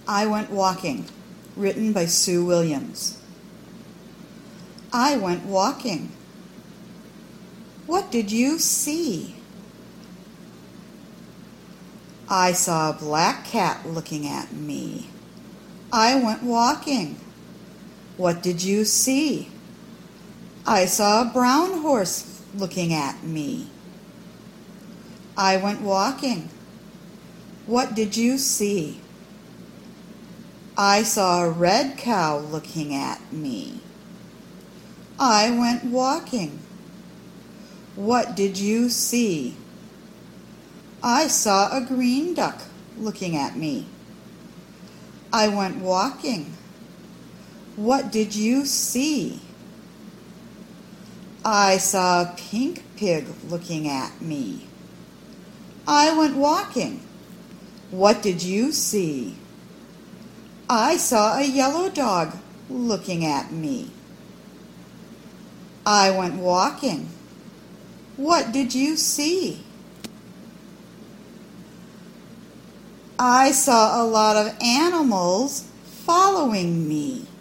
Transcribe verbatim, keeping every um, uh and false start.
I Went Walking, written by Sue Williams. I went walking. What did you see? I saw a black cat looking at me. I went walking. What did you see? I saw a brown horse looking at me. I went walking. What did you see? I saw a red cow looking at me. I went walking. What did you see? I saw a green duck looking at me. I went walking. What did you see? I saw a pink pig looking at me. I went walking. What did you see? I saw a yellow dog looking at me. I went walking. What did you see? I saw a lot of animals following me.